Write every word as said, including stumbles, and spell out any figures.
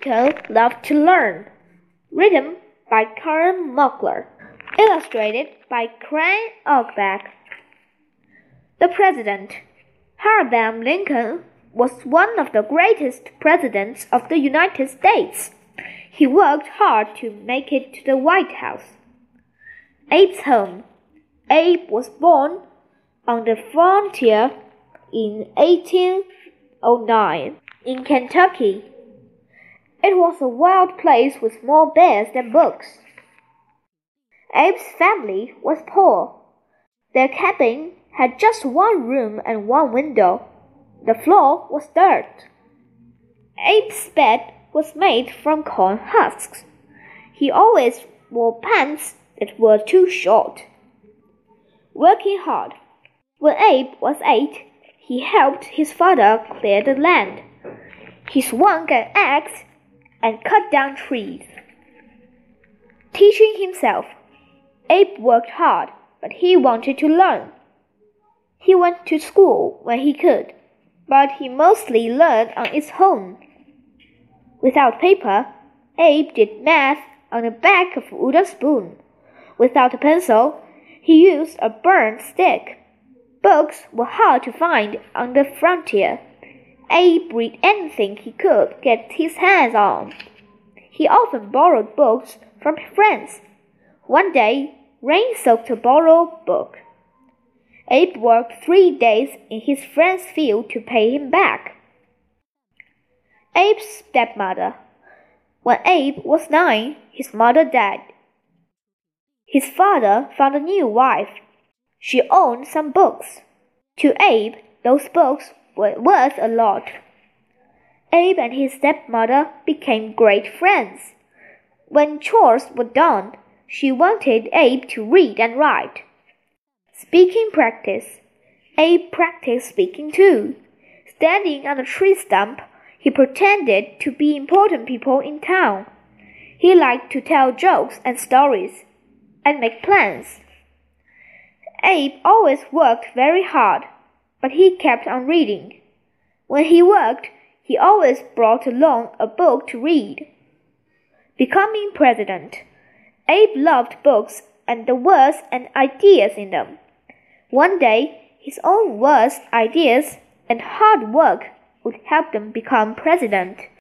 Lincoln Loved to Learn. Written by Karen Mockler. Illustrated by Crane Auerbach. The President. Abraham Lincoln was one of the greatest presidents of the United States. He worked hard to make it to the White House. Abe's home. Abe was born on the frontier in eighteen oh nine in Kentucky. It was a wild place with more bears than books. Abe's family was poor. Their cabin had just one room and one window. The floor was dirt. Abe's bed was made from corn husks. He always wore pants that were too short. Working hard. When Abe was eight, he helped his father clear the land. He swung an axe and cut down trees. Teaching himself. Abe worked hard, but he wanted to learn. He went to school when he could, but he mostly learned on his own. Without paper, Abe did math on the back of a wooden spoon. Without a pencil, he used a burned stick. Books were hard to find on the frontier. Abe read anything he could get his hands on. He often borrowed books from friends. One day, rain soaked a borrowed book. Abe worked three days in his friend's field to pay him back. Abe's stepmother. When Abe was nine, his mother died. His father found a new wife. She owned some books. To Abe, those books were worth a lot. Abe and his stepmother became great friends. When chores were done, she wanted Abe to read and write. Speaking practice. Abe practiced speaking too. Standing on a tree stump, he pretended to be important people in town. He liked to tell jokes and stories, and make plans. Abe always worked very hard, but he kept on reading. When he worked, he always brought along a book to read. Becoming president. Abe loved books and the words and ideas in them. One day, his own words, ideas, and hard work would help them become president.